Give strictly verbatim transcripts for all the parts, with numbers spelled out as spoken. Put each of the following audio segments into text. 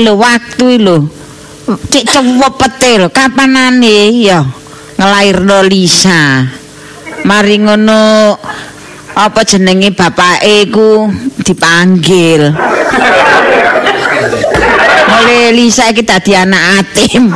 lho waktu lho. Cek cepete lho kapanane ya ngelairno Lisa. Mari ngono apa jenenge bapake iku dipanggil. Oleh Lisa iki dadi anak atim.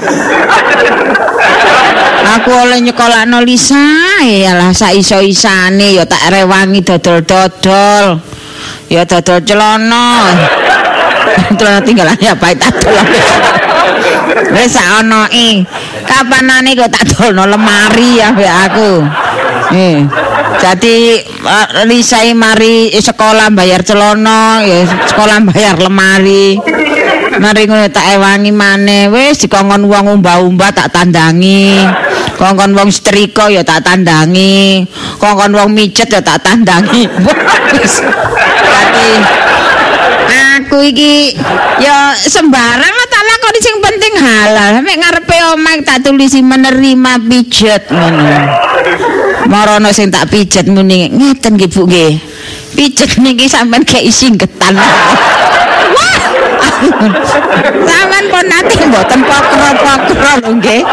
Aku oleh nyekolakno Lisa, yalah sak iso-isane ya tak rewangi dodol-dodol. Ya dodol celana. Celana tinggalan ya bae tak dolong. Wis sak onoe. Kapanane kok tak dolno lemari ya mbek aku. Eh. Jadi uh, Lisa mari sekolah bayar celana, ya sekolah bayar lemari. Mari ngono tak ewangi maneh wis dikongkon wong umbah-umbah tak tandangi. Kongkon wong setrika ya tak tandangi. Kongkon wong mijet ya tak tandangi. Wis. Dadi aku iki ya sembarang tak lakoni sing penting halal. Mek ngarepe omah tak tulisi menerima pijet ngono. Marono sing tak pijet muni ngeten nggih Bu nggih. Pijet niki sampean kei singgetan. Wah. Sampean pun nate mboten pokro-pokro lho nggih.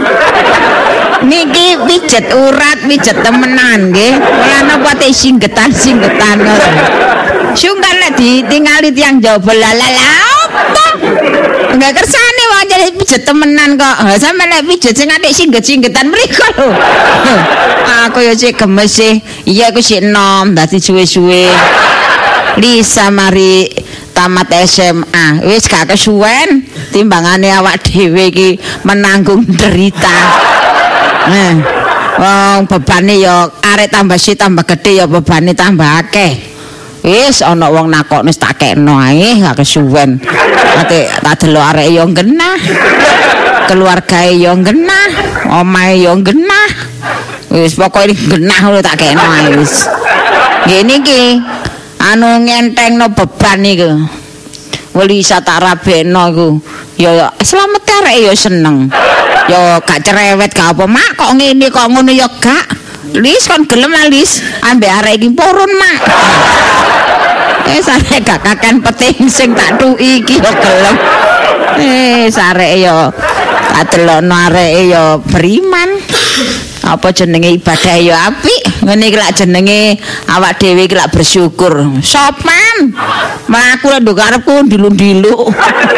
Niki pijet urat, pijet temenan nggih. Ora napa te singgetan-singgetan ngono. Sungkan nek ditingali tiyang jaba lalala apa? Enggak kersane wong jadi pijet temenan kok. Sampe nek pijet sing atik singget-singgetan mriko lho. Aku ya sik gemes sih. Iya aku sik enom dadi suwe-suwe. Lisa mari tamat S M A. Wis gak kesuwen timbangane awak dhewe iki menanggung derita. Nah, wong bebane ya arek tambah si tambah gede ya bebane tambah akeh. Wis ana wong nakokne tak kekno ae gak kesuwen. Ate tak delok arek yo genah. Keluargae yo genah, omahe yo genah. Wis pokoke genah lho tak kekno ae wis. Ngene iki anu ngentengno beban iku. Lisa tak rabekno iku. Ya slamet arek yo seneng. Yo gak cerewet gak apa mak kok ngene kok ngono yo gak. Lis kon gelem Lis ambek arek iki purun mak. Eh sare gak kakan peting sing tak tuki iki yo gelem. Eh sare yo tak delokno areke yo beriman. Apa jenenge ibadah yo apik. Ngene iki lak jenenge awak dhewe iki lak bersyukur. Sopan. Aku lek nduk karepku dilu-dilu.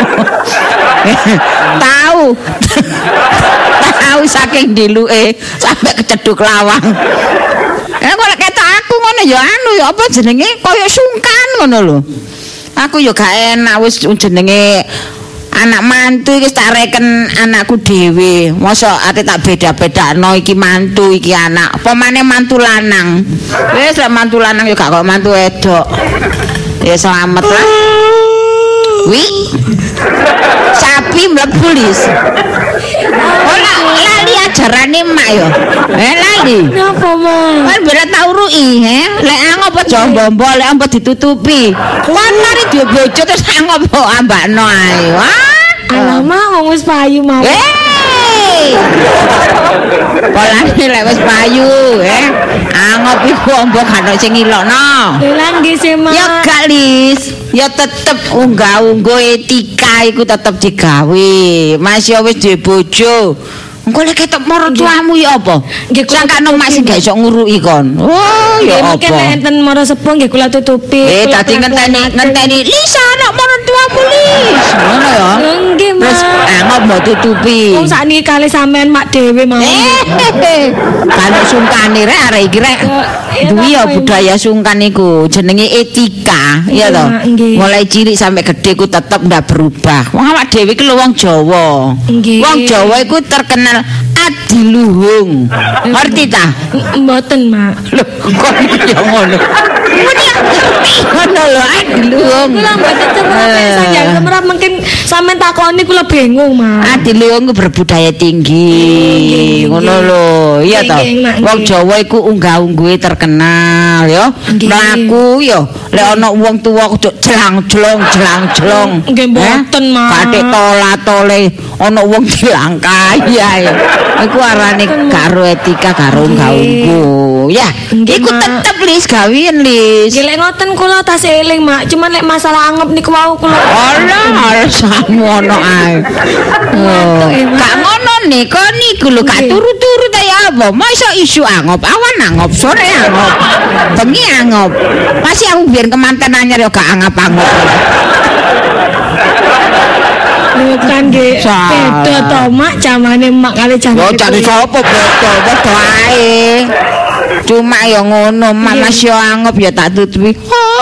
Tahu. Tahu saking diluke sampai keceduk lawang. Eh kok lek ketok aku ngono ya anu ya apa jenenge kaya sungkan ngono lho. Aku ya gak enak wis jenenge anak mantu iki tak reken anakku dhewe. Mosok ate tak beda-bedakno iki mantu iki anak. Apa maneh mantu lanang. Wis lek mantu lanang ya gak kok mantu wedok. Ya selamat lah. Wi. Sapi mlebu Lis. Ora lali ajarane mak yo. Eh lali. Napa, Mak? Kan berat tau ruki, he. Lek ngopo jombo lek ampo ditutupi. Kan mari dia bojo terus ngopo ambakno ae. Wah. Alamak wong wis payu mau. Hei. Polane lek wis payu, he. Angop iku ampo gak ono sing ngilokno. Lha nggih sih, Mak. Ya gak Lis. Ya tetep unggah-ungguh etika iku tetep digawe. Mas ya wis duwe bojo. Engko lek ketok maratuamu ya apa? Nggih kula sakno mak sing gak iso nguruki kon. Oh ya apa? Mungkin enten mara sepuh nggih kula tutupi. Eh dadi ngenteni ngenteni Lisa anak maratuamu Lis. Ngono ya. Nggih, Mak. Terus angop mbok tutupi. Wong sakniki kali sampean mak dhewe mau. Eh. Kalau sungkane rek arek iki rek. Duwi ya budaya sungkan iku jenenge etika, ya toh. Mulai cilik sampai gede ku tetep ndak berubah. Wong awak dhewe iki lho wong Jawa. Wong Jawa iku terkenal adiluhung. Ngerti ta? Mboten, Mak. Lho, kok iki ya ngono. Ngono lho adiluhung. Kula mboten sengaja semerap mungkin sampean takoni kula bingung, Mak. Adiluhung ku berbudaya tinggi. Ngono lho, iya toh. Wong Jawa iku unggah-ungguhe terkenal ya. Mlaku ya lek ana wong tuwa kudu jlang-jlong jlang-jlong. Nggih mboten, Mak. Kathik tola-tole ana wong dilangkai ae. Iku arane karo etika karo unggah-ungguh. Ya, iku tetep Lis gawean Lis. wis. Nggih lek ngoten kula tas eling, Mak. Cuman lek masalah anggap niku wau kula. Alah, alasanmu ono ae. Oh, gak ngono nih, kok niku lho gak turu-turu ta ya apa? Masa isu anggap, awan anggap, sore anggap, bengi anggap. Masih aku biar kemanten anyar ya gak anggap-anggap. Lho kan nggih. Beda to, Mak, jamane Mak kali jamane. Yo cari sapa beda, padha ae. Cuma ya ngono, Mas yo anggap ya tak tutupi.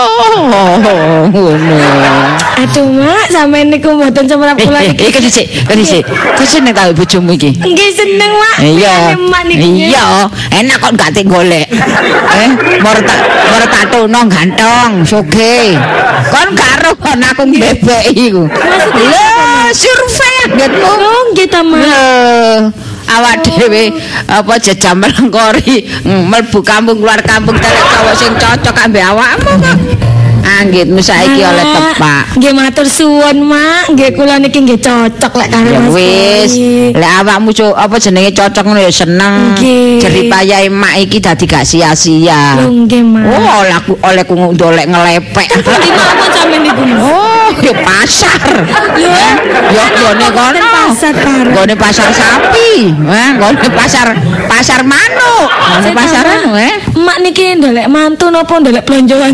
Ngono. Aduh, Mak, sampeyan niku mboten semrap kula iki. Iki sik, iki sik. Kok seneng ta bojomu iki? Nggih seneng, Mak. Iya. Mak niku. Iya, enak kok gak tik golek. Eh, moro tak moro tak tono ganteng, sugih. Kon karo kon aku bebek iku. Lho, survei angetmu. Oh, nggih ta, Mak. Awak dhewe apa jejam melengkori mlebu kampung keluar kampung telek cowok sing cocok ambek awakmu kok. Anggitmu saiki oleh tepak. Nggih matur suwun, Mak. Nggih kula niki nggih cocok lek karo Ya Mas. wis, lek awakmu apa jenenge cocok ngono ya seneng. Jeripayahe mak iki dadi gak sia-sia. Lho nggih, Mak. Oh, oleh oleh ku ndolek ngelepek. Di mawon sampeyan niku. Oh, ya pasar. Lho, yo gone kono. Pasar karo. Gone pasar sapi. Eh, gone pasar pasar manuk. Gone pasar anu eh. Mak niki ndolek mantu napa ndolek blonjoan?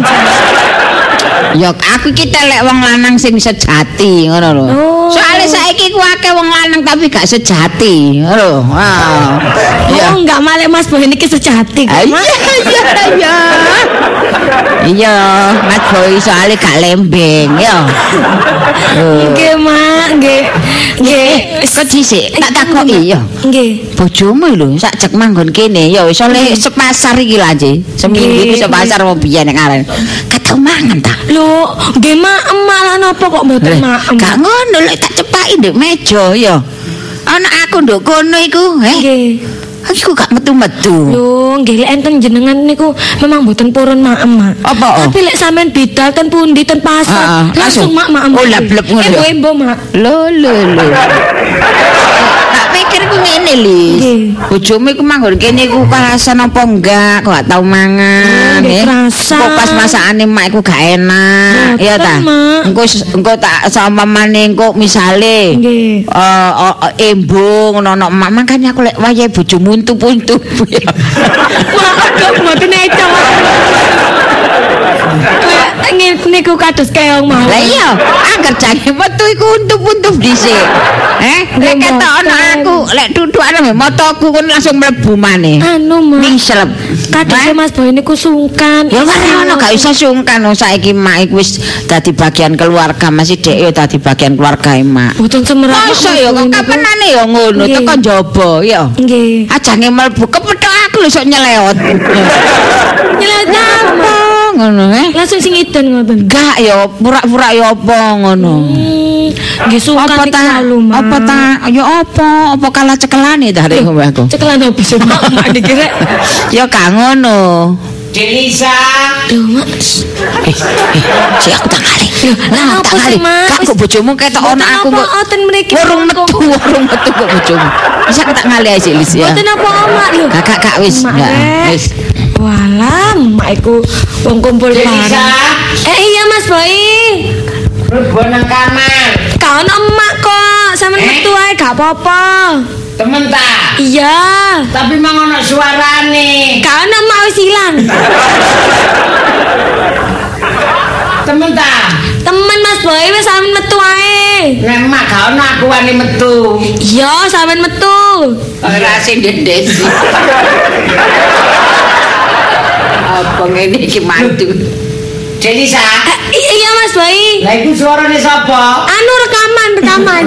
Ya aku iki telek wong lanang sing sejati ngono lho. Oh. Soale saiki ku akeh wong lanang tapi gak sejati, ngono. Wah. Ya enggak malek Mas Boy niki sejati kok. Iya iya iya. Iya, Mas Boy soalnya gak lembeng ya. Nggih, Mak, nggih. Nggih, kok dhisik tak takoki ya. Nggih. Bojomu lho sak jek manggon kene ya wis oleh sepasar iki lho Ji. Seminggu iki sepasar wong biyen nek arek. Katau mangan ta? Lho, nggih Mak, malah napa kok mboten Mak? Gak ngono lek tak cepaki ndek meja ya. Ana aku nduk kono iku, eh. Nggih. Aku gak metu-metu. Lho, nggih lek enten jenengan niku memang mboten purun Mak, Mak. Apa? Tapi lek sampean bidal ten pundi ten pasar, langsung Mak Mak. Oh, lablep ngono ya. Embo-embo Mak. Lho lho lho. Tak pikir ku ngene Lis. Bojomu iku manggon kene iku kerasan apa enggak? Kok gak tau mangan, Nggih, eh. kerasa. Kok pas masakane mak iku gak enak, ya ta? Engko engko tak sampamane engko misale Nggih. eh embo ngono mak makane aku lek wayahe bojomu untup-untup ya. Maaf kok mboten eco. Kayak niku kados keong mawon. Lah iya, angger jange metu iku untup-untup dhisik. Eh, nek ketok ana aku, lek dudukane motoku kon langsung mlebu maneh. Anu, Mak. Mislep. Kadang Mas Boy niku sungkan. Ya ora ono gak usah sungkan saiki mak iku wis dadi bagian keluarga, masih dhek ya dadi bagian keluarga mak. Mboten semerap. Masa ya kok kapanane ya ngono teko njaba ya. Nggih. Ajange mlebu kepethuk aku lho sok nyelewot. Nyelewot apa? Ngono eh. Langsung sing iden ngoten. Gak ya pura-pura ya apa ngono. Nggih sungkan Apa ta? Apa ta? Ya apa? Apa kalah cekelane ta rek aku? Cekelan opo sih Mak? Mak dikira. Ya gak ngono. Delisa. Lho, Mak. Eh, eh, si aku tak kali. Lah tak apa kali. sih, Mak? Kak kok bojomu ketok ana aku kok. Mboten mriki. Warung metu, warung metu kok bojomu. Bisa aku tak ngali ae Lis ya. Mboten apa Mak lho. Kakak kak wis enggak. Wis. Walah, Mak iku wong kumpul bareng. Eh iya Mas Boy. Mlebu nang kamar. Kau ono emak kok, sampean Eh? metu ae gak apa-apa. Temen ta? Iya. Tapi mang ono suarane. Kau ono emak wis ilang. Temen ta? Temen Mas Boy wis sampean metu ae. Nek mak gak ono aku wani metu. Iya, sampean metu. Ora sing ndendes. Apa ngene iki mantu. Delisa. Eh, iya Mas Boy. Lah iku suarane sapa? Anu rekaman, rekaman.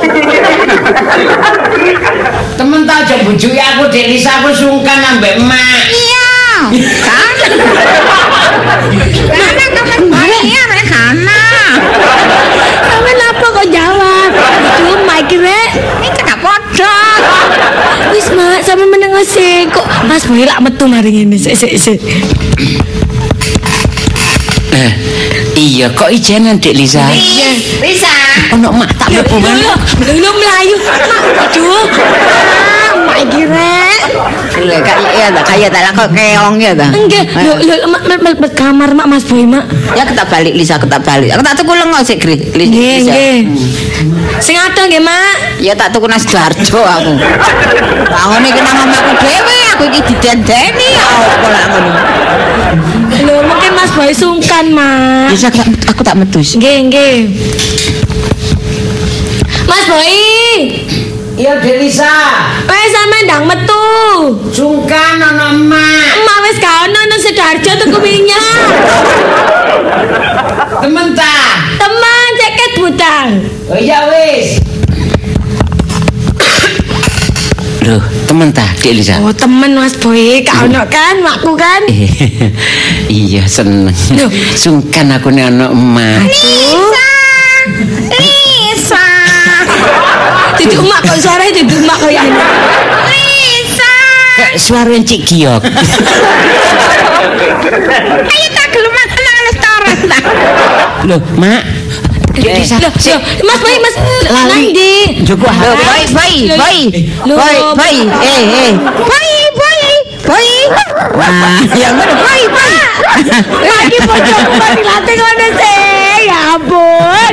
Temen ta aja bujuki aku Delisa, aku sungkan ambek emak. Iya. Kan. Kana kapan bayar rek kana. Sampean apa kok jawab? Itu Mak kira. Iki gak padha. Wis Mak, sampean meneng sih kok Mas Boy lak metu mari ngene. Sik sik sik. Eh, iya kok ijenan Dek Lisa? Iya, bisa. Ono mak tak mlebu maneh. Lho mlayu. Mak, aduh. Ah, Mak kira. Lho gak ya tak kaya tak kok keong ya ta. Enggak, lho lho mak kamar mak Mas Boy mak. Ya kita balik Lisa kita balik. Aku tak tuku lengo sik Gri. Nggih nggih. Sing ada nggih mak. Ya tak tuku nasi Darjo aku. Bangun iki nang omahku dhewe aku iki didendeni apa lak ngono. Lho mungkin Mas Boy sungkan mak. Ya aku tak metu. Nggih nggih. Mas Boy. Iya Delisa. Wes sampe ndang metu. Sungkan ana emak. Emak wis gak ono nang Sidoarjo tuku minyak. Temen ta? Teman ceket butang. Oh iya wis. Loh, temen ta, Dek Lisa? Oh, temen Mas Boy, gak ono kan makku kan? Iya, seneng. Loh. Sungkan aku nek ana emak. Lisa. Lisa. Duduk emak kok suaranya duduk emak koyo ini. Lisa. Kayak suara Cik Giok. Ayo tak gelem nang restoran ta. Loh, Mak. Dek Lisa. Loh, loh, Mas Boy, Mas Lali. Nandi. Joko Loh, boy, boy, boy. Boy, boy. Eh, eh. Boy, boy. Boy. Wah, ya ngono boy, boy. Lagi bojoku kok dilatih ngono sih. Ya ampun.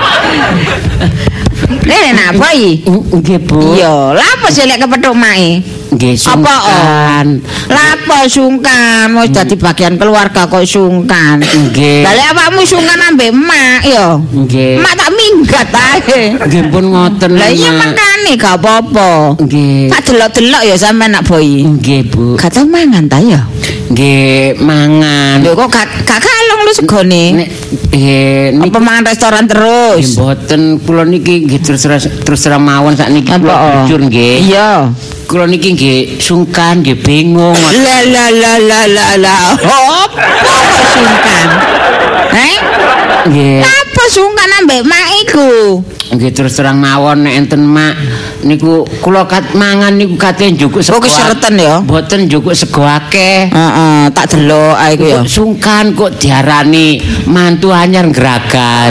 Nek nak boy. Nggih, Bu. Iya, lha apa sih lek kepethuk mae? Nggih, Apa sungkan. Lapo sungkan, wis dadi bagian keluarga kok sungkan. Nggih. Lah lek awakmu sungkan ambek emak ya. Nggih. Emak tak minggat ae. Nggih pun ngoten. Lah iya Mak. makane gak apa-apa. Nggih. Tak delok-delok ya sampe nak boy. Nggih, Bu. Gak tau mangan ta ya? Nggih, mangan. Lho kok gak gak kalong lu segone. Nek eh niki Apa mangan restoran nggih terus? mboten kula niki nggih terus terus terus terang mawon sakniki Apa? kula jujur nggih. Iya. Kula niki nggih sungkan, nggih bingung. La la la la la la. Apa sungkan? Eh? Nggih. Apa sungkan ambek mak iku? Nggih terus terang mawon nek enten mak niku kula kat mangan niku kate njukuk Oh sego. kesereten ya. Mboten njukuk sego akeh. Heeh, tak delok ae iku ya. Kok sungkan kok diarani mantu anyar ngragas.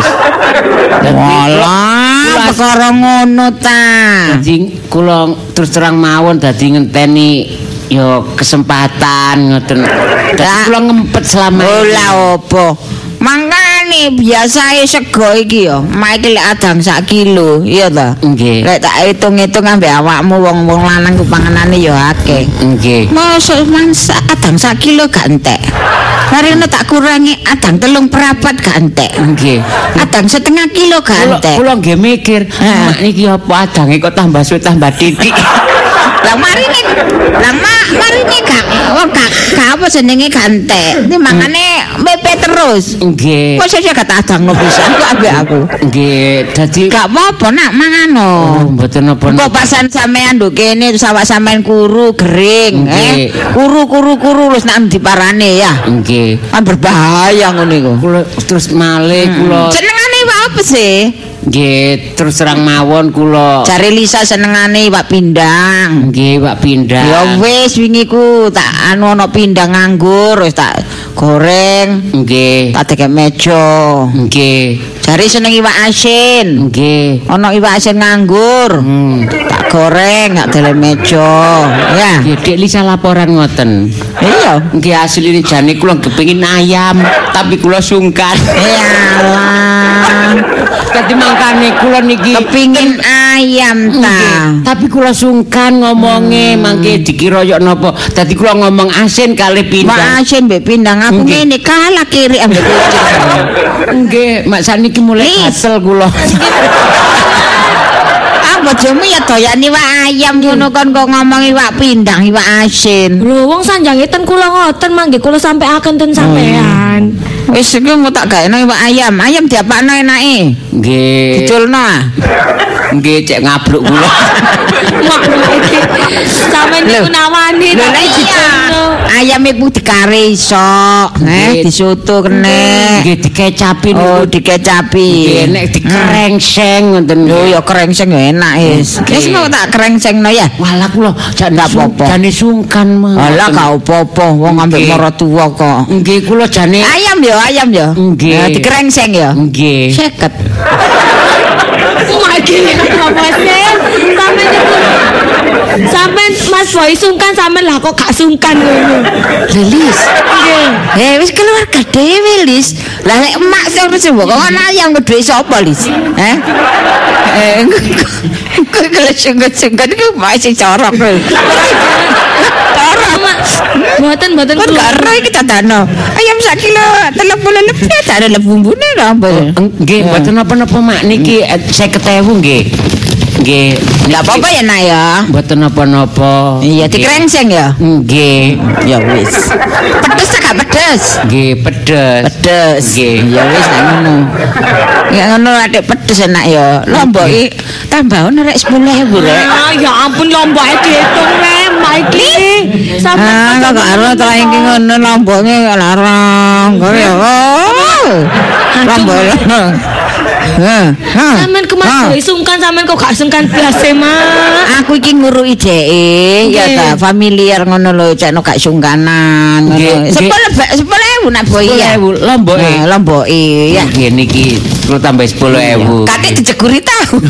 Walah, perkara ngono ta. Dadi kula terus terang mawon dadi ngenteni ya kesempatan ngoten. Dadi Lah. kula ngempet selama Oh ini. lah opo. Mangkane biasae sego iki ya, mak iki lek adang sak kilo, iya ta? Nggih. Lek tak hitung-hitung ambek awakmu wong-wong lanang ku panganane ya akeh. Nggih. Masa mansa adang sak kilo gak entek. Marine tak kurangi adang telung perapat gak entek. Nggih. Adang setengah kilo gak Kula entek. kula nggih mikir, Heeh. mak niki apa adange kok tambah suwe tambah titik. Lah marine lah mak marine gak wong gak gak apa jenenge gak entek. Ini makane mepet terus. Nggih. Kok saya gak adangno pisan kok ambek aku. Nggih, dadi Gak apa-apa nak mangano. oh, mboten Kok napa. pasan sampean nduk kene terus awak sampean kuru kering, Nggih. eh. Kuru kuru kuru terus nak diparane ya. Nggih. Kan berbahaya ngono iku. Kula terus malih kula Senengane iwak apa sih? nggih terus terang mawon kula Jare Lisa senengane iwak pindang. nggih Pak pindah. Ya wis wingi ku tak anu ana pindang nganggur wis tak goreng, Nggih. tak tekek meja. Nggih. Jare seneng iwak asin. Nggih. Ana iwak asin nganggur. Hmm. Tak goreng tak dele meja. Ya. Nggih, Dek Lisa laporan ngoten. Iya. Nggih asline jane kula kepengin ayam, tapi kula sungkan. Yalah. Dadi mangkane kula niki Kepingin ayam ta. Nggih, tapi kula sungkan ngomonge mangke dikira yo napa. Dadi kula ngomong asin kali Wak pindah. asin mbek pindang aku Nggih. ngene kalah kiri ambek kucing. Nggih, mak saniki mulai Lis. gatel kula. Ah bojomu ya doyan iwak ayam ngono kon kok ngomong iwak pindang iwak asin. Lho wong sanjange ten kula ngoten mangke kula sampeaken ten sampean. Wis iki mau tak gaekno iwak ayam. Ayam diapakno enake? Nggih. Diculno ah. Nggih cek ngabluk kula. Mak iki sampean niku nawani Lho tapi lah iya. diculno. Ayam iku dikare iso, eh Nggih. disoto kene. Nggih dikecapi Oh, niku. dikecapi. Nggih nek dikerengseng ngoten. Lho ya kerengseng ya enak wis. Nggih. Wis mau tak kerengsengno ya. Walah kula jak Ndak apa-apa. jane sungkan mah. Alah gak apa-apa wong ambek Nggih. maratuwa kok. Nggih kula jane Ayam ya, ayam ya. Nggih. Ya, dikerengseng ya. nggih. Seket. Mak iki apa sih? Sampean niku sampean Mas Mas Boy sungkan sampean lah kok gak sungkan ngono. Lis. Nggih. Eh wis keluarga dhewe Lis. Lah lek emak terus mbok kok ana ayam gedhe sapa Lis? Eh? Eh kok kalau sungkan-sungkan iku mak sing corok. Corok. Mboten mboten Kan gak ero iki dadano. Ayam sak kilo tiga puluh lebih tak ada bumbune lho apa. Nggih, mboten napa-napa Mak niki saya ketewu nggih. Nggih. Enggak apa-apa ya nak ya. Mboten napa-napa. Iya dikrengseng ya. Nggih. Ya wis. Pedes tak gak pedes? Nggih, pedes. Pedes. Nggih. Ya wis nek ngono. Ya ngono adek pedes enak ya. Lombok iki tambahan rek sepuluh ribu rek. Ah, ya ampun lomboke diitung rek, Mike. Ah, kok gak ero to iki ngono lomboke larang. Kok ya. Lombok. Heh. Sampeyan ke Mas Boy sungkan sampeyan kok gak sungkan blas e, Mak. Aku iki nguruki dheke ya ta familiar ngono lho cekno gak sungkanan ngono. sepuluh sepuluh ribu nak Boy ya. Lomboke. Nah, lomboke ya. Nggih niki kula tambah sepuluh ribu. Katik dijeguri tahu.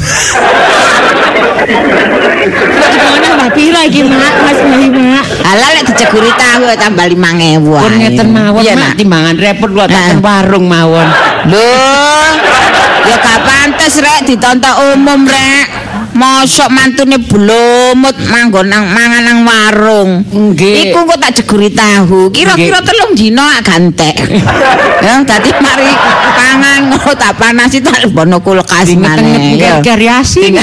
Kok dikono mbak pira iki, Mak? Mas Boy, Mak. Ala lek dijeguri tahu tambah lima ribu. Pun ngeten mawon Mak timbangan repot kula tak warung mawon. Loh, ya gak pantes rek ditonton umum rek. Mosok mantune blomut manggon nang mangan nang warung. Nggih. Iku kok tak jeguri tahu. Kira-kira telung dina gantek. Ya dadi mari pangan ngono tak panasi tak bono kulkas maneh. Ya variasi.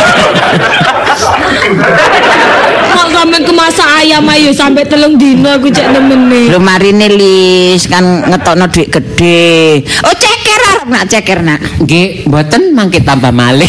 Kok sampeyan ke masak ayam ayo sampai telung dino aku cek nemene. Lho marine Lis kan ngetokno dhuwit gede. Oh ceker arep nak ceker nak. Nggih, mboten mangke tambah malih.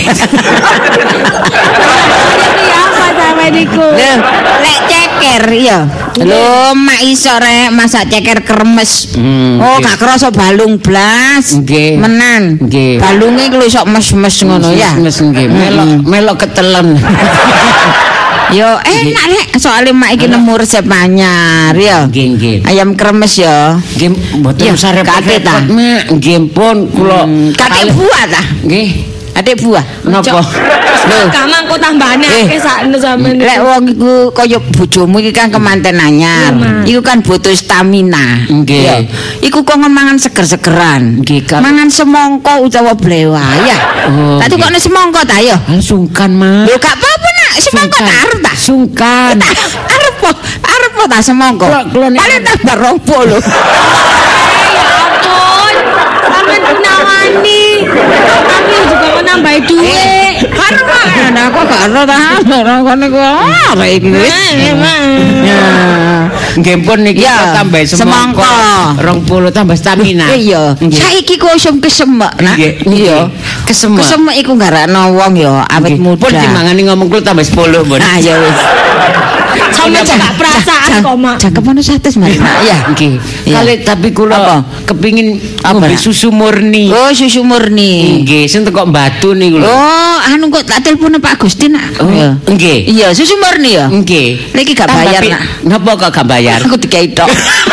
Ya apa sampe niku? Lho, lek ceker ya. Lho, mak iso rek masak ceker kremes. Hmm, oh, nggih. gak kerasa balung blas. Nggih. Menan. Nggih. Balunge ku iso mes-mes ngono ya. Mes nggih, melok melok ketelen. Yo enak rek, soalnya mak iki nemu resep anyar ya. Nggih, nggih. Ayam kremes ya. Nggih, mboten Ya, usah kaget ta? repot-repot, Mak. Nggih pun kula Kakek buah ta? nggih. Adik buah. Napa? Lho, Kamang kok tambahane Eh. akeh sakno sampeyan. lek wong iku kaya bojomu iki kan kemanten anyar. Iku kan butuh stamina. Nggih. Ya. Iku kok mangan seger-segeran. Nggih, Kak. Mangan semangka utawa blewa ya. Oh, Tak tukokne semangka ta ya. Ah, sungkan, Mak. Lho gak apa-apa nak, semangka tak arep ta. Sungkan. Tak arep po, arep po ta semangka. Kula- kula nek- Paling tambah rong puluh. Ya ampun. Sampeyan nawani. Tapi juga mau nambahi duit. Arep ana kok gak ero ta. Ora kene ku arek iki wis. Eh, Mak. Ya. Nggih pun niki Ya, kula tambah semangka. semangka. rong puluh tambah stamina. Iya, Nggih. saiki kok usum kesemek, Nak. Nggih, Iya. kesemek. Kesemek iku garakno wong ya awet Nggih. muda. Pun timbangane ngomong kula tambah sepuluh, Pun. Nah, ya wis. Sampeyan kok gak perasaan kok, Mak. Cakep ono satu Mas. Nak, ya. Nggih. Iya. Kali tapi kula Apa? kepingin Apa, ngombe Nak? susu murni. Oh, susu murni. Nggih, sing teko Batu niku lho. Oh, anu kok tak telepon Pak Gusti Nak. Oh, Iya. nggih. Iya, susu murni ya. Nggih. Niki gak Tambah bayar, pi- Nak. Napa kok gak bayar? Aku dikai tok.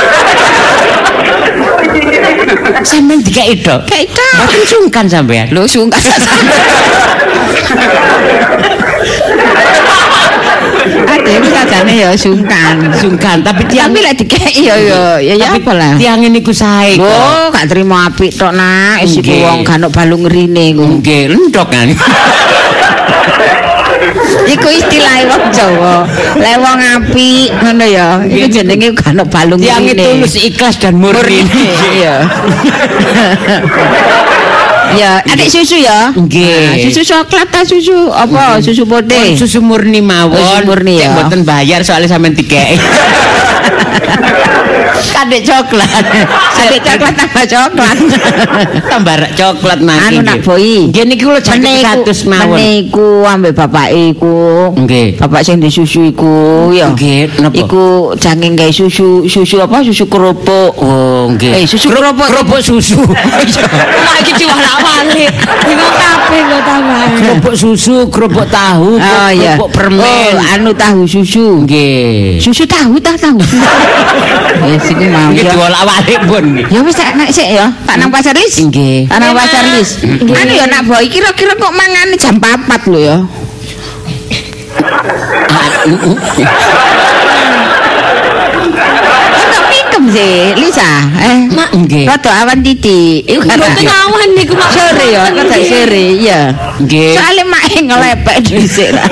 Sampeyan dikai tok. Dikai tok. Mboten sungkan sampeyan. Lho sungkan. Ade iki sajane ya sungkan. Sungkan, tapi tiang Tapi lek dikai ya ya ya ya tapi apa lah. tiang niku sae kok. Oh, gak terima apik tok nak. Wis iku Nggih. wong gak ono balung rine ku. Nggih, lentok kan. Iku istilah wong Jawa. Lek wong apik ngono ya. Iku jenenge gak ono balung Tiang rine. tulus ikhlas dan murni. Iya. Ya, adik susu ya. Nggih. Nah, susu coklat ta susu apa? Susu Pun putih. susu murni mawon. Susu murni ya. Cek mboten bayar soalnya sampean dikei. Kadek coklat. Adik coklat tambah coklat. Tambah rak coklat nang. Anu nak boi. Nggih niki kula jaket seratus mawon. Meniku ambek bapake iku. Nggih. Bapak sing disusui iku ya. Nggih, napa? Iku jange gawe susu, susu apa? Susu kerupuk. Oh, nggih. Eh, susu kerupuk. Kerupuk susu. Mak iki diwalak-walik. Bingung kabeh kok tambah. Kerupuk susu, kerupuk tahu, Oh iya. kerupuk permen. Oh, anu tahu susu. Nggih. Susu tahu ta tahu. Wis iku mau Nggih ya. diolak-walik pun nggih. Ya wis tak nek sik ya. Tak nang pasar Lis. Nggih. Tak nang Enak. pasar Lis. Anu ya nak boy kira-kira kok mangane jam papat lho ya. Mikem sih, Lisa. Eh, Mak, nggih. rada awan titik. Iku mboten awan niku Mak. sore ya, kata sore, iya. Nggih. Soale mak ngelepek dhisik lah.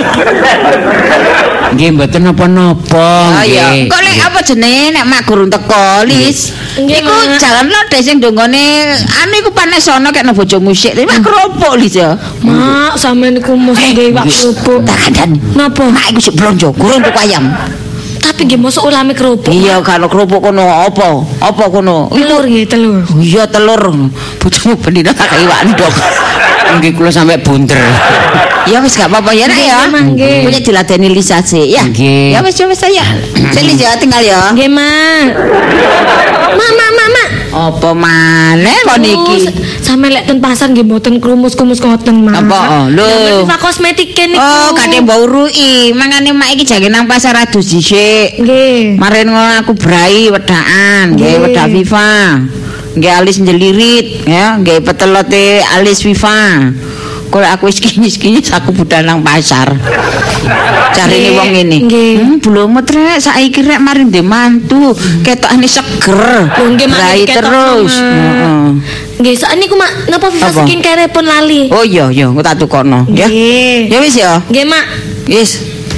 Nggih mboten napa-napa. Oh iya, nggih. kok lek apa jenenge nek mak gurung teko, Lis. Nggih, Iku Mak. jalan lodeh sing donggone anu iku panes sono kek nang bojo musik. Tapi mak keropok Lis ya. Mak, sampean niku mesti gawe wak kerupuk. Tak kandhani. Napa? Mak iku sik blonjo, gurung tuku ayam. Tapi nggih mosok ulame kerupuk. Iya, kalau kerupuk kono apa? Apa kono? Telur nggih, telur. Iya telur. Bojomu bendina tak iwak ndok. Nggih kula sampe bunder. Ya wis gak apa-apa ya nek ya. Nggih, Mak, nggih. Punya diladeni Lisa sih ya. Nggih. Ya wis ya wis saya. Seli ya tinggal ya. Nggih, Mak. Mak, mak, mak, mak. Apa maneh kok niki? Sampe lek ten pasar nggih mboten krumus-krumus ngoten, Mak. Apa? Lho. Viva kosmetik niku. Oh, kate mbok urui. Mangane mak iki jage nang pasar adus dhisik. Nggih. Marin ngono aku brai wedakan, nggih Nggih. wedak Viva. Nggih alis njelirit ya, nggih petelote alis Viva. Kok aku wis kinyis-kinyis aku budal nang pasar. Carine Nggih, wong ngene. nggih. Hmm, blomot rek saiki rek mari ndek mantu. Ketokane seger. Lho, nggih, Mak, Brai ketok, terus. Mak. Heeh. Nggih, sakniku Mak, napa Viva Apa? skincare pun lali. Oh iya iya, engko tak tukono ya. Nggih. Ya wis ya. Nggih, Mak. Wis.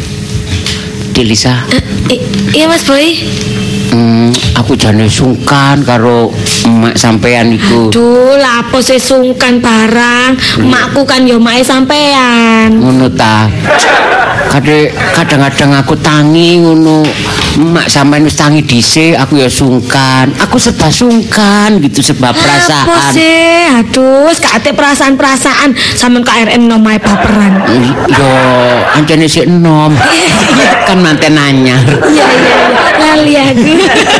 Delisa. Eh, i- iya Mas Boy. Hmm, aku jane sungkan karo emak sampean iku. Duh, lapo sih sungkan barang. Makku kan yo mae sampean. Ngono ta. Kade kadang-kadang aku tangi ngono. Emak sampean wis tangi dhisik, aku ya sungkan. Aku serba sungkan gitu sebab Apa perasaan. sih? Aduh, kate perasaan-perasaan sampean K R M nomae baperan. Yo, ancene sik enom. Kan manten anyar. Iya, iya, iya. Lali aku.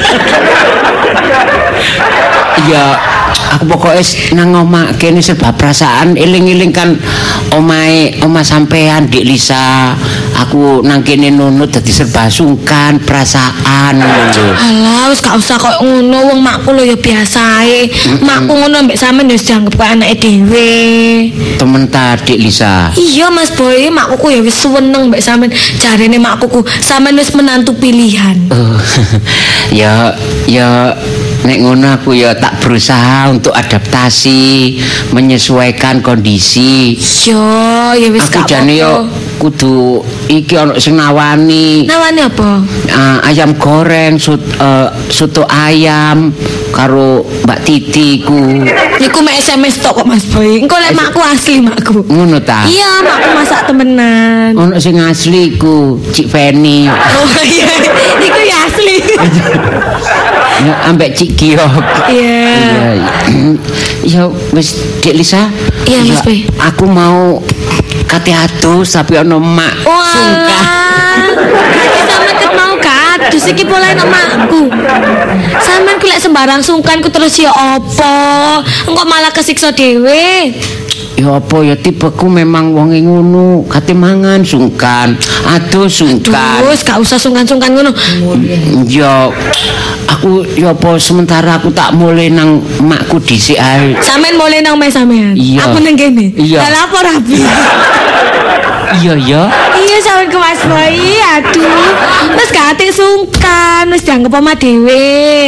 Ya, aku pokoknya nang omah kene serba perasaan eling-eling kan omahe omah sampean Dik Lisa. Aku nang kene nunut dadi serba sungkan perasaan ngono. Alah, wis gak usah kok ngono, wong makku lho ya biasae. Makku ngono mbek sampean ya wis dianggep kaya anake dhewe. Temen ta Dik Lisa. Iya Mas Boy, makku ya wis seneng mbek sampean. Jarene makku sampean wis menantu pilihan. Oh, ya ya nek ngono aku ya tak berusaha untuk adaptasi, menyesuaikan kondisi. Yo, ya wis Aku gak jane yo apa-apa. kudu iki ana sing nawani. Nawane apa? Ah, ayam goreng, sut, eh, soto ayam karo Mbak Titi ku. Niku mek S M S tok kok Mas Boy. Engko lek makku asli makku. Ngono ta? Iya, makku masak temenan. Ono sing asli ku, Cik Feni. Oh iya, niku ya asli. Ya ambek Cik Giok. Iya. Ya wis Dik Lisa. Iya, Mas Ya, Boy. Aku mau kate atus tapi ono mak sungkan. Walah. Sampe ket mau kadus iki boleh nang makku. Sampean ku lek sembarang sungkan ku terus ya apa? Engko malah kesiksa dhewe. Ya apa ya tipeku memang wong ngono, kate mangan sungkan, atus sungkan. Terus gak usah sungkan-sungkan ngono. Ya aku ya apa sementara aku tak mulai nang makku dhisik ae. Sampean mulai nang mes sampean. Iya. Aku nang kene. Iya. Lah lapor rapi. Iya ya. Iya sampean ke Mas Boy. Aduh. Wis gak ate sungkan, wis dianggep omah dhewe.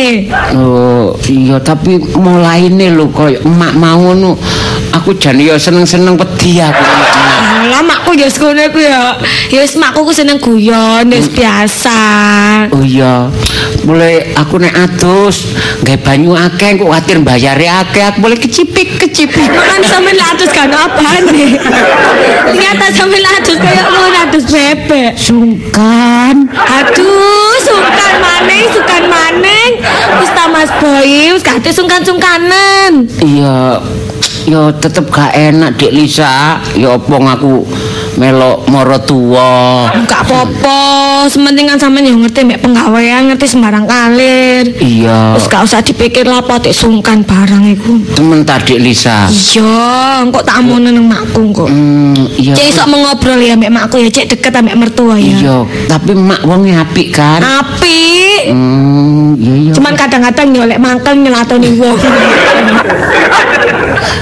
Oh, iya tapi mulaine lho koyo emak mau ngono. Aku jan ya seneng-seneng wedi aku. Alah makku ya ngono iku ya. Ya wis makku ku seneng guyon, wis biasa. Oh iya. Mulai aku nek adus gawe banyu akeh kok kuwatir mbayare akeh, aku boleh kecipik-kecipik. Makan sampe latus kan apane? Ternyata sampe latus kayak ngono adus bebek. Sungkan. Aduh, sungkan maneng, sungkan maneng. Wis ta Mas Boy, wis gak ate sungkan-sungkanen. Iya. Ya tetep gak enak Dik Lisa. Ya apa aku melok mara tuwa. Gak apa-apa, sementing kan sampean yo ngerti mek penggawean, ngerti sembarang kalir. Iya. Wis gak usah dipikir lah potek sungkan barang iku. Temen ta Dik Lisa. Iya, kok tak amono nang makku kok. Hmm, iya. Cek iso mengobrol ya mek makku ya, cek deket ambek mertua ya. Iya, tapi mak wonge apik kan? Apik. Hmm, iya iya. Cuman kadang-kadang yo lek mangkel nyelatoni wong.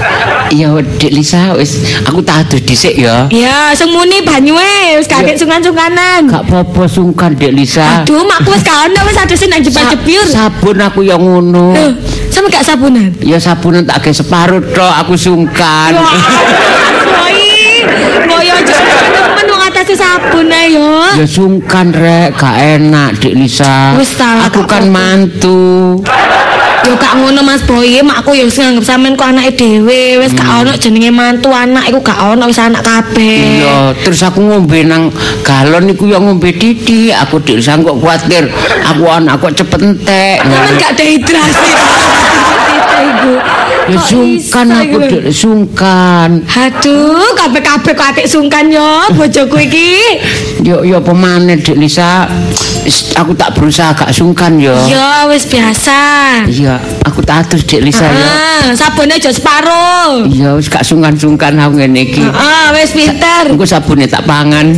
Ya Dik Lisa wis aku tak adus dhisik ya. Ya, semuni banyuwe wis kakek sungkan-sungkanan. Gak apa-apa sungkan Dik Lisa. Aduh, makku wis gak ono wis adus nang jepir-jepir. Sabun aku yang ngono. Loh, sama gak sabunan? Ya sabunan tak ge separuh tok aku sungkan. Woi, ngoyo aja temen wong atase sabun ae yo. Ya sungkan rek, gak enak Dik Lisa. Wis salah, Aku gak kan apa-apa. mantu. Yo gak ngono Mas Boy, makku yo nganggep sampean ku anake dhewe, wis gak ono jenenge mantu anak iku gak ono wis anak kabeh. Iya, terus aku ngombe nang galon iku ya ngombe titik. Aku Dik Lisa kok kuwatir aku anak kok cepet entek. Sampeyan gak dehidrasi. Iku. Ya Kok sungkan iso aku iku? Dik, sungkan. Aduh, kabeh-kabeh kok atik sungkan yo bojoku iki. Yo yo pemane Dik Lisa. Is, aku tak berusaha gak sungkan yo. Ya wis biasa. Iya, aku tak atus Dik Lisa yo. Ah, sabune aja separuh. Iya, wis gak sungkan-sungkan aku ngene iki. Ah, wis pinter. Engko sabune tak pangan.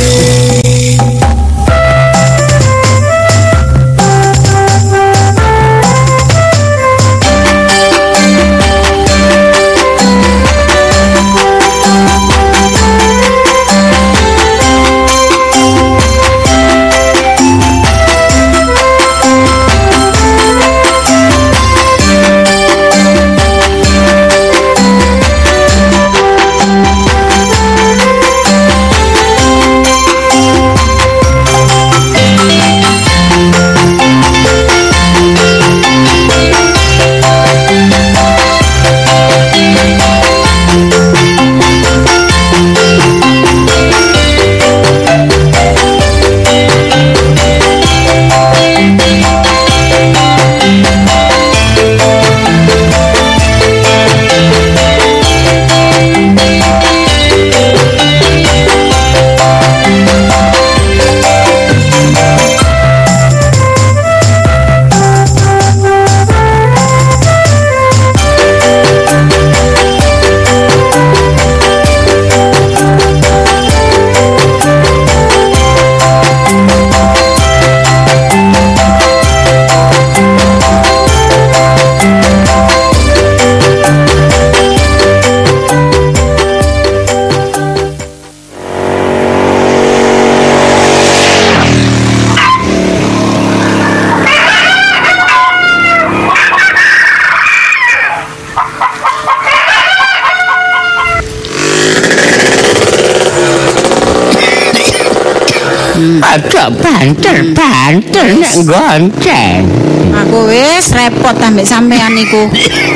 Ada banter-banter nek gonceng. Aku wis repot ambek sampean niku.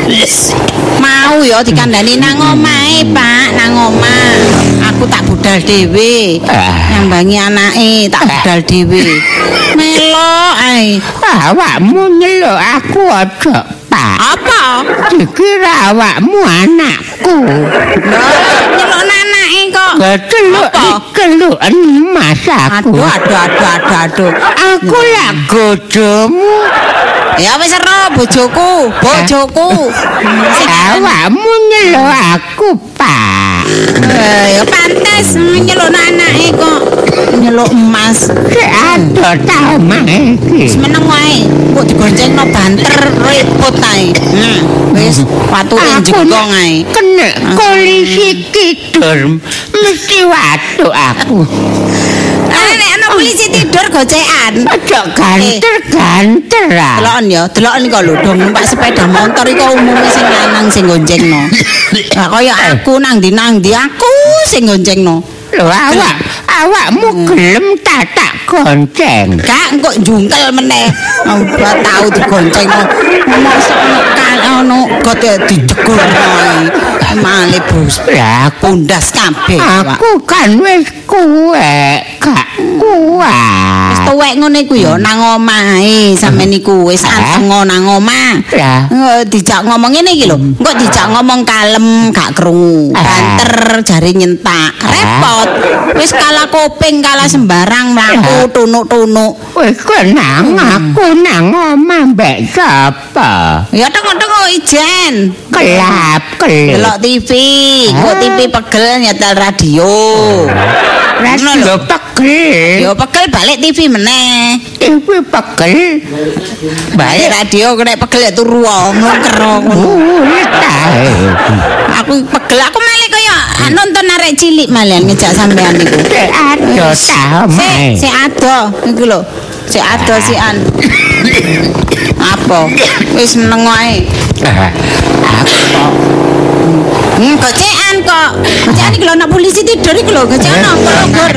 Mau ya dikandani nang omahe, Pak, nang omah. Aku tak budal dhewe. Ah. Nyambangi anake tak budal dhewe. Melo ae. Awakmu nyeluk aku aja, Pak. Apa? Dikira awakmu anakku. Nyeluk anake kok. Keceluk Apa? dikeluk emas aku. Aduh, aduh, aduh, aduh, aduh. Aku lak gojomu. Ya wis ero bojoku, bojoku. Sing Awakmu nyeluk aku, Pak. Eh, ya pantes nyeluk anake kok. Nyeluk emas. Sik ado ta omah iki. Semeneng wae, kok digoncengno banter repot ae. Nah, wis wature jegong ae. Kena polisi tidur mesti watuk aku. Ah, nek ana polisi tidur gocekan. Aja ganter-ganter ah. Deloken ya, deloken kok lho dong numpak sepeda motor iku umume sing lanang sing goncengno. Lah kaya aku nang ndi nang ndi aku sing goncengno. Lho awak, awakmu gelem tak tak gonceng. Gak engko njungkel meneh. Udah tau digoncengno. Mosok ono kan ono got dijegur ae. Male bos. Lah aku Pundas kabeh. Pak. aku kan wis kuwek, gak kuat. Tuwek ngono iku ya nang omah ae sampeyan niku wis anteng nang omah. Lah. Eh, dijak ngomong ngene iki lho. Engko dijak ngomong kalem gak krungu. Banter jare nyentak. Repot. Wis kalah kuping kalah sembarang mlaku tunuk-tunuk. Wis kenang aku nang omah mbek sapa? Ya tengok-tengok ijen. Kelap kelip. Delok T V, engko T V pegel nyetel radio. Radio pegel. Yo pegel balik T V meneh. T V pegel. Balik radio kena pegel ya turu ngker ngono. Aku pegel aku malah kaya nonton arek cilik malian ngejak sampean niku. Ado ta Sik, sik ado iku lho. Sik ado sian. Apa? Wis meneng wae. Hmm, gocekan kok. Gocekan iki lho anak polisi tidur iki lho, gocekan apa logor.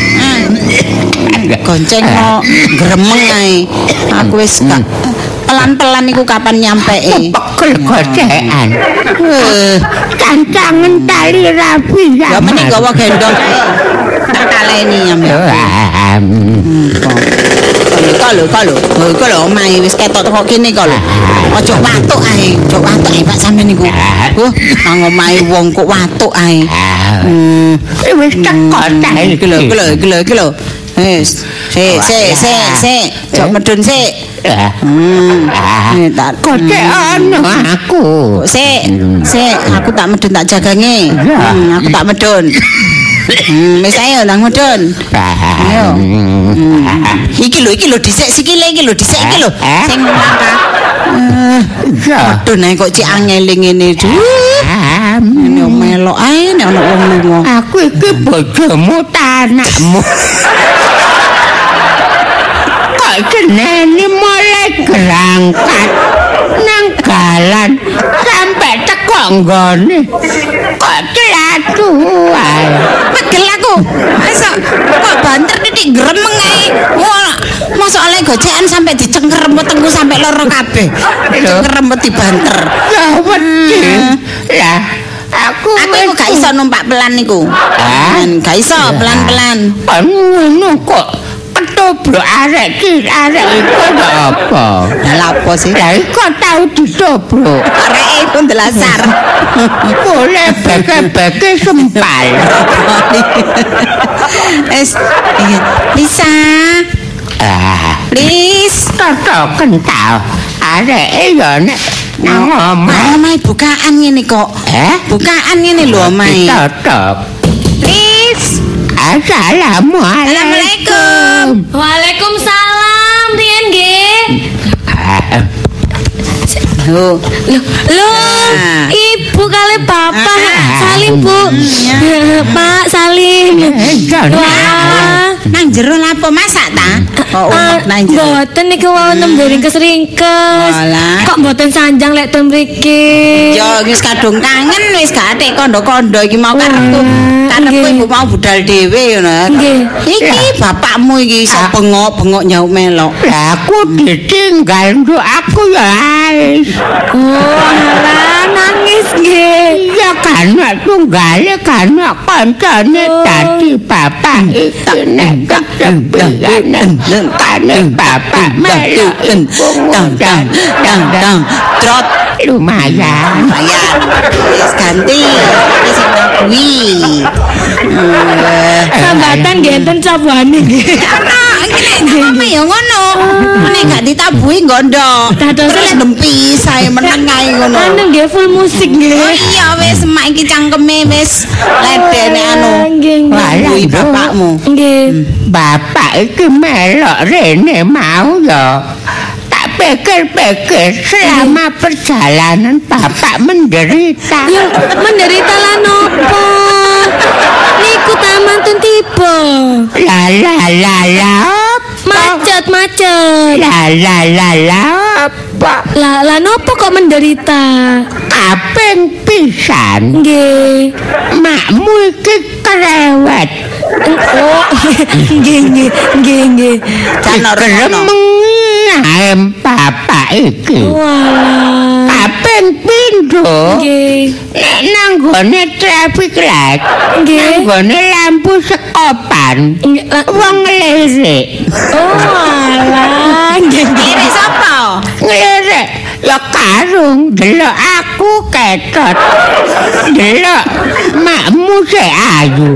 Gonceng kok gremeng ae. Aku wis gak pelan-pelan iku kapan nyampeke. Pegel gocekan. Cancangen tali rapi Ya meneh gawa gendong ae. Tak kaleni ambil. Kok lho, kok lho. Kok lho omahe wis ketok teko kene kok lho. Ojo watuk ae, ojo watuk ae Pak sampean niku. Uh, nang omahe wong kok watuk ae. Hmm, wis teko ta iki lho, iki lho, iki lho, iki lho. Wis, sik, sik, sik, sik. Jok medun sik. Hmm. Tak gocekan aku. Sik, sik, aku tak medun tak jagange. Hmm, aku tak medun. Hmm, wis ayo nang medun. Ayo. Iki lho, iki lho dhisik sikile iki lho, dhisik iki lho. Sing langkah. Medun ae kok cek angele ngene. Ini melok ae nek ana wong lunga. Aku iki bojomu ta anakmu. Kok jenenge mulai berangkat nang dalan sampai teko nggone. Kok celatu ae. Pegel aku. Masa kok banter titik gremeng ae. Wah, mosok oleh gocekan sampai dicengkerempet tengku sampai loro kabeh. Dicengkerempet dibanter. Ya wedi. Lah aku aku iku gak iso numpak pelan niku. Gak iso pelan-pelan. Ngono kok ketobrak arek ki arek iku apa? Lah apa sih? Lah iku tau ditobrak. Areke iku ndelasar. Boleh beke-beke sempal. Es Lisa. Ah, Lis, toto kental. Areke yo nek nang omah. Omahe bukaan ngene kok. Eh? Bukaan ngene lho omahe. Toto. Lis. Assalamualaikum. Waalaikumsalam, riyen nggih. Loh, Loh, loh, Ibu kali Bapak. Salim, Bu. Pak, salim. Wah. Nang jero lapo masak ta? Kok umek nang jero. Mboten niku wau nembeling kesringkes. Walah. Kok mboten sanjang lek ten mriki. Yo wis kadung kangen wis gak atik kondo-kondo iki mau karepku. Karepku ibu mau budal dhewe ngono. Nggih. Iki bapakmu iki iso bengok-bengok nyauk melok. Lah aku ditinggal nduk aku ya ais. Oh, alah nangis nggih. Ya kan tunggale kan kancane dadi bapak iki nek ketempian kan bapak melok Dang dang dang dang trot lumayan. lumayan wis ganti wis kuwi. Sambatan nggih enten cabane nggih. Ana ya ngono. Nek gak ditabuhi nggondo. Terus nempi sae meneng ae ngono. Anu nggih full musik nggih. Iya wis emak iki cangkeme wis ledene anu. Nggih, nggih. Kuwi bapakmu. Nggih. Bapak iki melok rene mau ya. Tak pikir-pikir selama perjalanan bapak menderita. Yo, menderita lan nopo? Niku tamantun tiba. La la la la. Macet, macet. La la la la. Apa? Lah, lah nopo kok menderita? Kaping pisan. Nggih. Makmu iki kerewet. Oh, nggih, nggih, nggih, nggih. Gremeng bapak iki. Walah. Kaping pindho. Nggih. Nek nang gone traffic light. Nggih. Nang gone lampu sekopan. Nggih, lah- Wong ngelirik. Oh, alah. Nggih, nggih. Lirik sapa? Ngelirik. Ya karung delok aku ketot. Delok makmu sik ayu.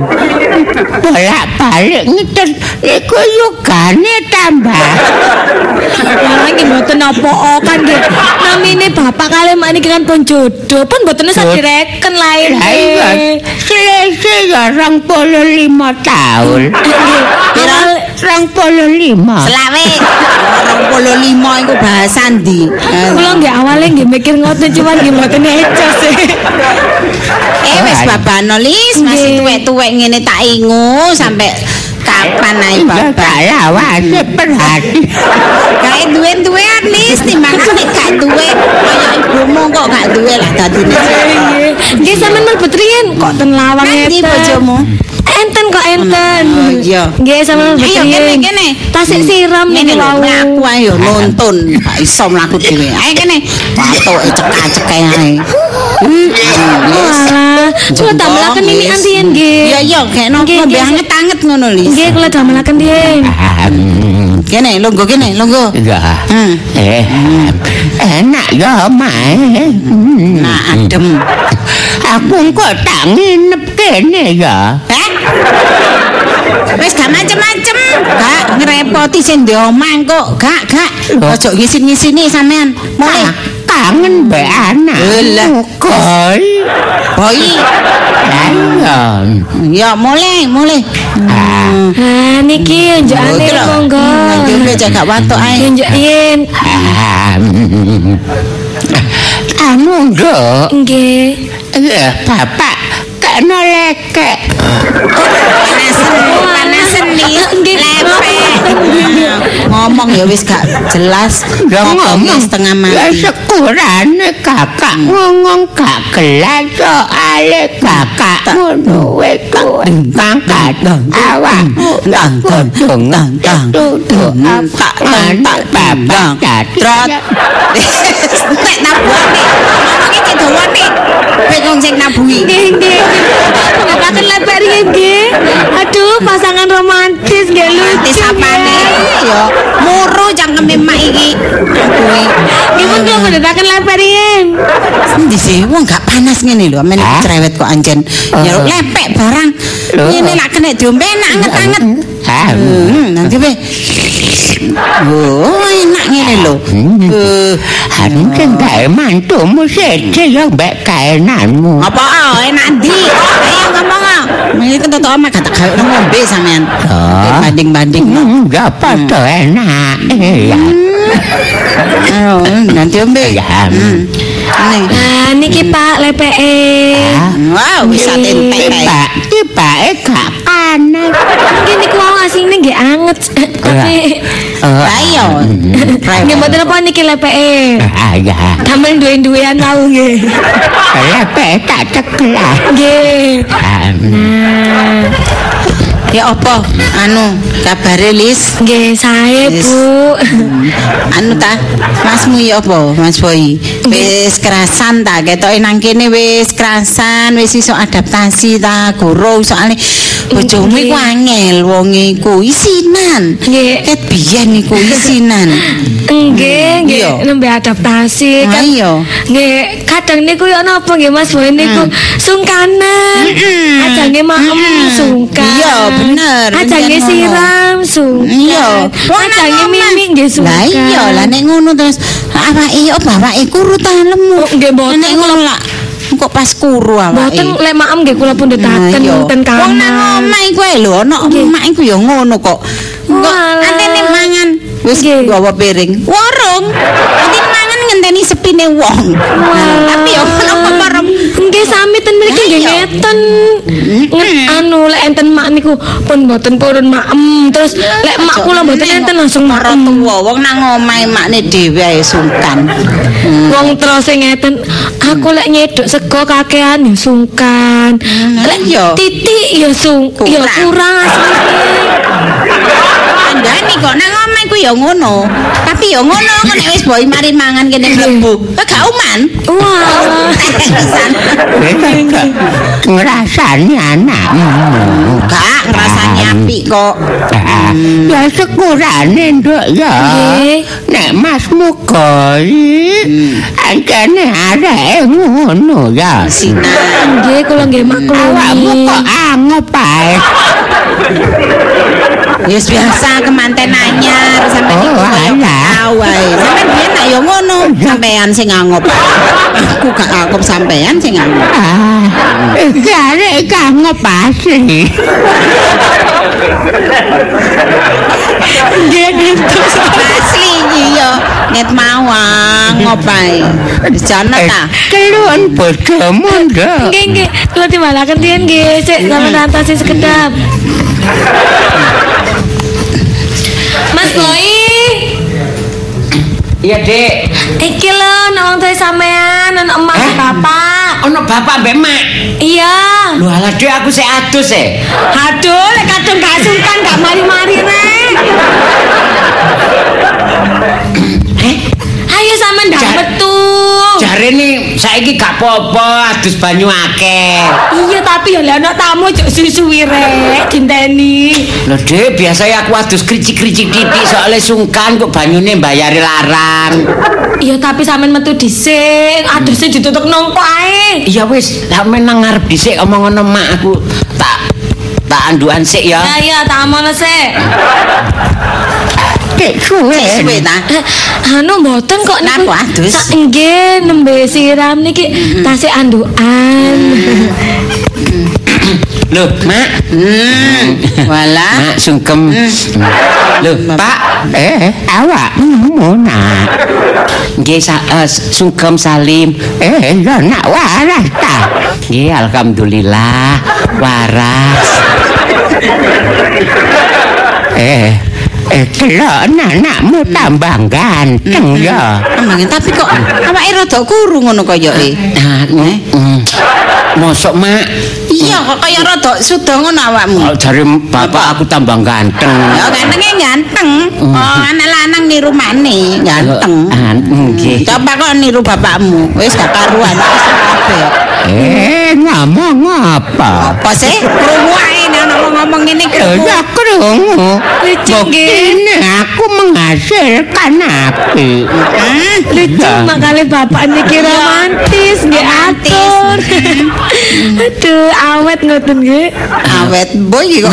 Bolak-balik ngiter iku yugane tambah. Malah nggih mboten nopo kan nggih. Namine bapak kali mak niki kan pun jodoh, pun mboten usah direken lain. Selesai ya rong puluh lima tahun. Awal rong puluh lima. Selawe. rong puluh lima iku bahasa ndi? kula nggih awale nggih mikir ngoten cuman nggih mboten ecos. Eh wis babano Lis, masih tuwek-tuwek ngene tak ingu sampai kapan ae bapak lawas berhati. Kae duwe-duwean Lis timbangane gak duwe kaya ibumu kok gak duwe lah dadine. Nggih sampean mlebet riyen kok ten lawang Nanti ngeten. bojomu. Enten kok enten. Oh iya. Nggih sampean mlebet Ayo riyen. kene kene. Tasik siram niki wau. Aku ayo nuntun, gak iso mlaku dhewe. Ayo kene. Watoke cekak-cekek ae. Wah, kula damelaken ini antiyen nggih. Iya iya, kene ngombe anget-anget ngono Lis. Nggih kula damelaken riyen. Kene longgo kene longgo. Ya. Hmm. Eh, enak ya, Mae. Nah, adem. Aku kok tak nginep kene ya. Hah? Wis gak macem-macem. Gak ngrepoti sing ndek omah kok. Gak, gak. Ojo ngisin-ngisini sampean. Mulai Kangen mbek anak. Lah, Koi. boy. Ayo. Ya mulai, mulai. Ah. Ah niki njokane monggo. Nanti udah jaga watuk ae. Njok riyen. Ah. Anu nduk. Nggih. Eh, Bapak kena lekek. Panasen, panasen nih. Lepek. Ngomong ya wis gak jelas. Ya ngomong setengah ya mati. sekurane kakak ngomong gak gelas soale kakak ngono wis kakak awakmu Tang tang dong tang tang. tutuk apa anak bapak Trot. Nek nabuane. Ngomongnya cek dawane. Bingung sing nabuhi. Nggih nggih. Ngapaken lepek riyen nggih. Aduh pasangan romantis nggih lucu. Romantis apane? Ya muru cangkeme mak iki. Kuwi. Nggih pun kula mendhetaken lepek riyen. Endi sih wong gak panas ngene lho, men cerewet kok anjen. Ya lepek barang. Ngene lak kena diombe enak anget-anget. Hmm, nanti be. Oh, enak ngene lho. Eh, anu sing gawe mantumu sece ya mbek kaenanmu. apa ah enak ndi? Ayo ngomong ah. Iki ketok omah gak tak gawe ngombe sampean. Banding-banding. Hmm, ya padha enak. Ya. Ayo, nanti ombe. Ya. Nih. Nah niki Pak lepeke. Wow, bisa tentek kae. Pak, tibake gak panas. Nggih niku wau asine nggih anget. Tapi Lah iya. nggih mboten apa niki lepeke. Ah ya. Damel duwe-duwean wau nggih. Lepek tak cekel. Nggih. Nah, Ya apa? Anu, kabare Lis? nggih sae Yes. Bu. Anu ta, Masmu ya apa, Mas Boy? Wis kerasan ta, ketoke nang kene wis kerasan, wis iso adaptasi ta, guru soalnya bojomu iku angel wong iku isinan. Nggih. Ket biyen iku isinan. Nggih, nggih Iya. nembe adaptasi Ah, kan. iya. Nggih, kadang niku ya napa nggih Mas Boy niku sungkanan. Ajange maem sungkan. Iya, bener. Ajange Bener siram sungkan. Iya. Ajange mimik nggih sungkan. Lah iya, lah nek ngono terus awake apa awake kuru ta lemu. Oh, nggih, mboten. Nek ngono lah kok pas kuru awake. Mboten lek maem nggih kula pun ndetaken ten kamar. Wong nang omah iku ae lho, ana emak iku ya ngono kok. Kok Walah. antene mangan wis Nggih. gawa piring. Warung. Nanti mangan ngenteni sepine wong. Tapi ya ono pemerem. Nggih sami ten mriki nggih Iya. ngeten. Nge- Anu lek enten mak niku pun mboten purun maem. Terus lek mak kula mboten enten langsung Para maem. tuwa wong nang omahe makne dhewe ae sungkan. Wong terus sing ngeten, aku lek nyeduk sego kakean ya sungkan. Lek iya. titik ya sung ya Kurang. kurang asline. Andani kok nang omah iku ya ngono. Tapi ya ngono kok nek wis boy mari mangan kene mlebu. Kok gak uman? Wah. Pisan. Ngrasani anakmu. Gak ngrasani apik kok. Ya sekurane nduk ya. Nggih. Nek masmu goi, angkane areke ngono ya. Sinan. Nggih kula nggih mak Awakmu kloni. kok angop ae. Wis biasa kemanten anyar sampe Oh, iki kok alah. tahu wae. Sampe biyen Sampean sing ngangop. Aku gak ngangop sampean sing ngangop. Ah, gak ngangop asli. Nggih, asli iya. Net mau ngop ae. Jana ta. Keluan bojomu ndak. Nggih nggih, kula timbalaken tien nggih, sik sampean rantas sing sekedap. Mas Boy. Iya, Dik. Iki lho nang tuwa sampean ana emak Eh? bapak. Ono bapak mbek mak. Iya. Lho alah Dik aku sik adus e. Aduh, lek kadung gak sungkan gak mari-mari rek. Eh, Ayo sampean ndak Jar- metu. jarene saiki gak apa-apa adus banyu akeh. Iya tapi ya lek ana tamu jek suwi rek dinteni. Lho Dik, biasanya aku adus kricik-kricik titik soalnya sungkan kok banyune mbayari larang. Iya tapi sampean metu dhisik, aduse ditutuk nongko ae. Iya wis, sampeyan nang ngarep dhisik omong ngono mak aku tak tak andukan sik ya. Ya ya tak amono sik. Dek suwe. Suwe ta. Eh, anu mboten kok niku. Napa adus? Sak nggih nembe siram niki tasih andukan. Loh, Mak. Hmm. Walah. Mak sungkem. Loh, Pak. Eh, awakmu nak. Nggih sa- eh, sungkem Salim. Eh, yo nak waras ta. Nggih, alhamdulillah waras. Eh, eh kelok anakmu tambah ganteng ya. Emangnya tapi kok awake rada kuru ngono koyoke. Nah, mm, mosok Mak. Iya kok kaya rada suda ngono awakmu. Kalau jare bapak aku tambah ganteng. Ya gantengnya ganteng. Oh, anak lanang niru mane, ganteng. Ah, nggih. Coba kok niru bapakmu. Wis gak karuan wis kabeh. Eh, ngomong apa? Apa sih? Krungu ae nek ana wong ngomong ngene Lho, krungu. ya krungu. Lucu, Buktine aku menghasilkan api. Hmm. Lucu makale bapak niki romantis nggih atur. Aduh, awet ngoten nggih. Awet boy iki kok.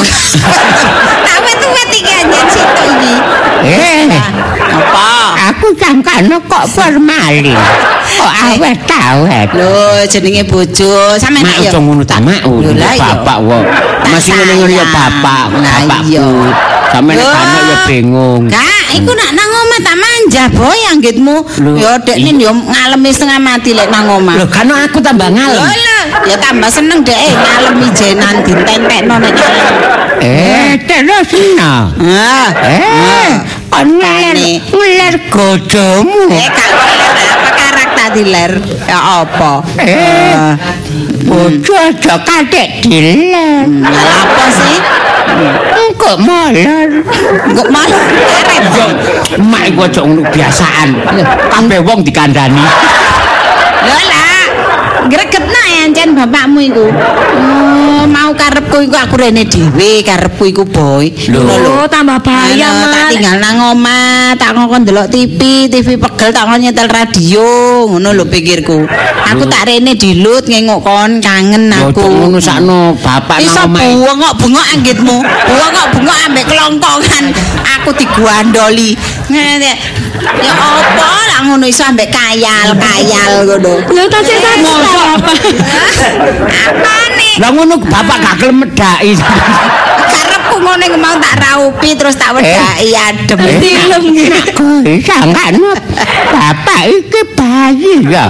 Awet-awet iki anjen situ iki. Eh, Apa? aku sangkane kok formalin. Kok awet-awet. Lho, jenenge bojo. Sampe Mak ya. aja ngono ta, Mak. Oh, Lho, lah, iya. bapak wo. Tak Masih ngene-ngene ya sayang. bapak, Lah, bapakku. iya. Sampe nek Loh. anak ya bingung. Kak, iku nak nang omah tak manja boy anggitmu. Lho, Ya dekne yo ngalemi setengah mati lek nang omah. Lho kan aku tambah Lho ngalem. lho, ya tambah seneng dek eh, ngalemi jenan ditentekno nek ngalem. Eh, terus no. Ah. Eh, kon ngeler, Makane. ngeler gojomu. Eh, kak ler apa karakter diler? Ya apa? Eh, bojo aja kadek diler. Lah apa sih? Engko molor. Kok malah arep. Yo, mak iku aja ngono biasaan. Kabeh wong dikandani. Lho lah, gregetno ya ancen bapakmu iku. Oh, mau karepku iku aku rene dhewe, karepku iku boy. Ngono lho. Oh, tambah bahaya, Ayo, tak Mas. tinggal nang omah, tak ngongkon ndelok T V, T V pegel tak ngongkon nyetel radio, ngono lho pikirku. Aku tak rene dilut ngengok kon kangen Yo aku. aja ngono sakno bapak Iso nang omahe. bengok-bengok anggitmu. Bengok-bengok ambek kelongkongan. Aku digandoli. Ngene. Ya apa lah ngono iso ambek kayal-kayal ngono. Lho tasih tasih apa? Apa nih? Lah ngono bapak gak gelem medhaki. Karepku ngene mau tak raupi terus tak wedaki adem. Dilem nggih. Kuwi sangkane bapak iki bayi ya.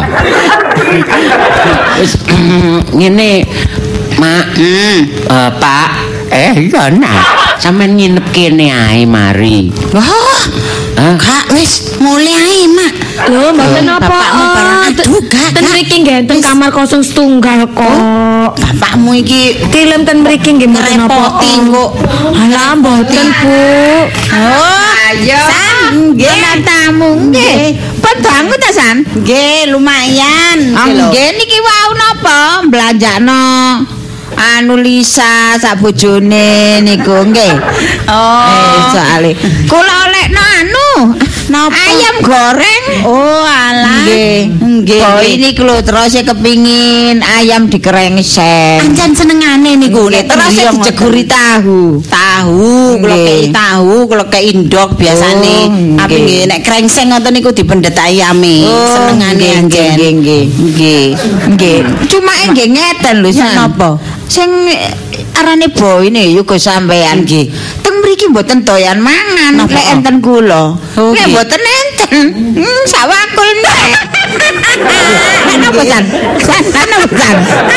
Wis ngene Mak, Hmm. eh, Pak, Eh, ya nak. sampean nginep kene ae mari. Wah. Hah? Kak wis mulai ae, Mak. Lho, mboten Loh, apa. bapakmu barang aduh, gak, Ten gak. mriki nggih ten Wis. kamar kosong setunggal kok. Bapakmu iki Tilem ten mriki nggih mboten apa. ngerepoti kok. Alah mboten, Bu. Oh, ayo. San, nggih tamu nggih. Padangku ta San? Nggih, lumayan. Nggih niki wau napa? Belanjakno anu Lisa sak bojone niku nggih. Oh, soalé kula olehno anu Napa? Ayam goreng. Oh, alah. Nggih. Nggih. Oh, ini lho terus kepingin ayam dikerengseng. Ancen senengane niku nek terus dijeguri tahu. Tahu, kula kei tahu, kula kei ndok biasane. Tapi nggih nek krengseng ngoten niku dipendet ayame. Senengane ancen. Nggih, nggih. Nggih. Nggih. Cuma nggih ngeten lho napa? Sing arane boy ini yo sampean nggih. Teng mriki mboten doyan mangan lek enten kula. Nek mboten enten, hmm, sawakul nek. Napa jan? Napa jan?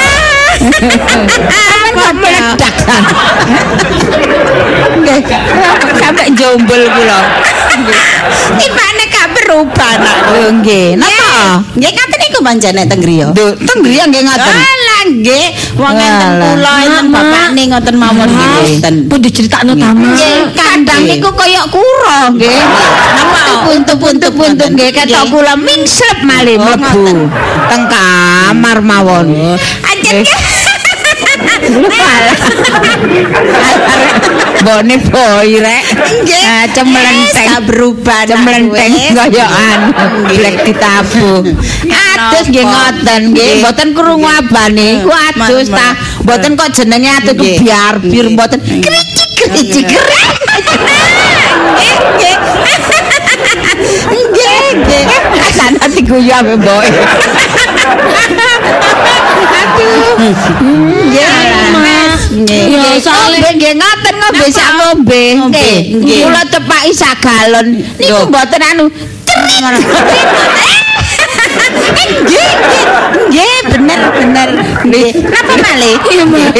Kok meledak kan? Nggih. Sampai jombel kula. Tipane gak berubah nak. Nggih. Napa? Nggih ngaten niku manjane teng griya. Teng griya nggih ngaten. Nggih, wong enten kula enten bapakne ngoten mawon nggih. Pun diceritakno ta, Mak. Nggih, kandang niku kaya kura nggih. Napa puntu-puntu-puntu nggih ketok kula mingslep malih mlebu teng kamar mawon. Anjen bone boy rek. Nggih. Cemlenteng berubah cemlenteng koyokan blek ditabuh. Atus nggih ngoten nggih, mboten krungu abane iku adus ta. Mboten kok jenenge atus biar bir mboten kricik-kricik. Nggih. Nggih, nggih. Sana diguyu ambek boy. Aduh. Nggih. Ya soalnya nggih ngoten ngombe sak ngombe. Nggih. Kula tepaki sak galon. Niku mboten anu. Nggih, nggih, bener bener. Nggih. Napa malih? Iya, Mak.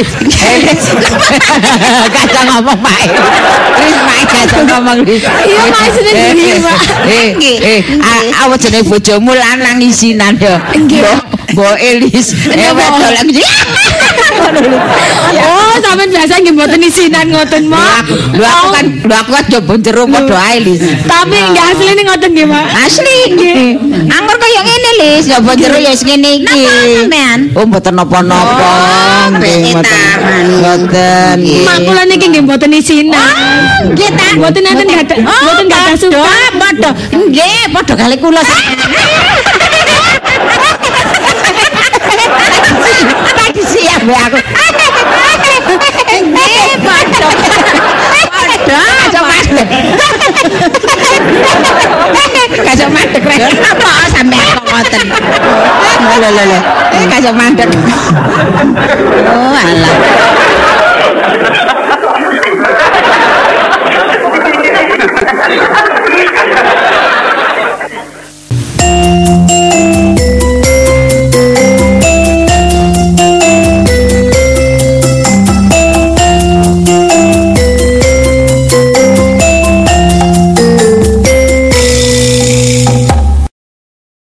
Kacang ngomong Pak. Wis Pak kacang ngomong. Iya, maksudnya gini, Pak. Eh, eh, awak jenenge bojomu lanang isinan ya. Nggih. Mbok Elis. Eh, wedok lagi. Oh, sampean biasa nggih mboten isinan ngoten, Mak. Lho aku kan, lho aku kan coba jero padha ae Lis. Tapi nggih asline ngoten nggih, Mak. Asli nggih. Anggur kaya ngene Lis, coba jero ya ngene iki. Napa sampean? Oh, mboten napa-napa. Nggih, mboten. Mboten. Mak kula niki nggih mboten isinan. Nggih ta. Mboten enten gadah, mboten gadah suka. Padha. Nggih, padha kali kula. Tadi siap ya aku. Nggih, padha. Padha. Kacau madek. Kacau madek rek. Apa sampean kok ngoten? Lho lho lho. Kacau madek. Oh, alah. Thank you.